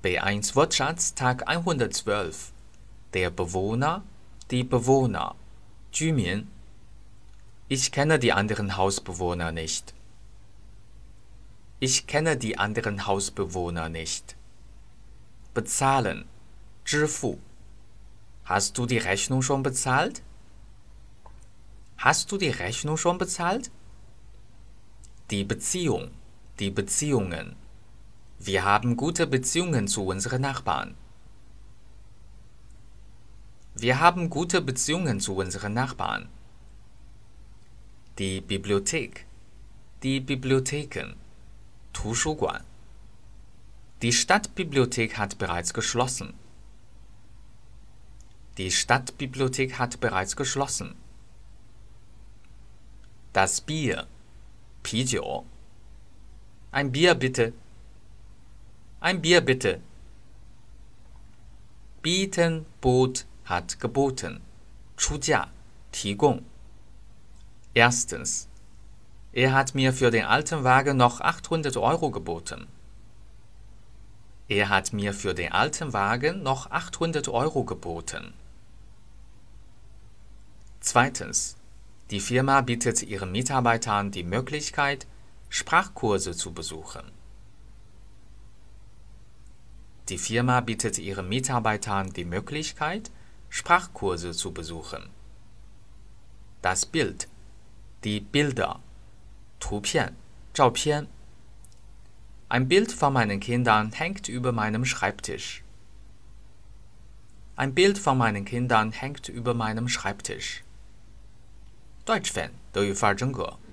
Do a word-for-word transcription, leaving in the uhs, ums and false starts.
B eins Wortschatz Tag hundertzwölf. Der Bewohner, die Bewohner, 居民. Ich kenne die anderen Hausbewohner nicht. Ich kenne die anderen Hausbewohner nicht. Bezahlen, 支付. Hast du die Rechnung schon bezahlt? Hast du die Rechnung schon bezahlt? Die Beziehung, die Beziehungen. Wir haben gute Beziehungen zu unseren Nachbarn. Wir haben gute Beziehungen zu unseren Nachbarn. Die Bibliothek, die Bibliotheken, 图书馆. Die Stadtbibliothek hat bereits geschlossen. Die Stadtbibliothek hat bereits geschlossen. Das Bier, 啤酒. Ein Bier bitte. Ein Bier bitte. Bieten, bot, hat geboten. 出价，提供. Erstens. Er hat mir für den alten Wagen noch achthundert Euro geboten. Er hat mir für den alten Wagen noch achthundert Euro geboten. Zweitens. Die Firma bietet ihren Mitarbeitern die Möglichkeit, Sprachkurse zu besuchen. Die Firma bietet ihren Mitarbeitern die Möglichkeit, Sprachkurse zu besuchen. Das Bild, die Bilder, 图片, 照片. Ein Bild von meinen Kindern hängt über meinem Schreibtisch. Ein Bild von meinen Kindern hängt über meinem Schreibtisch. Deutsch Fan 德语范儿真格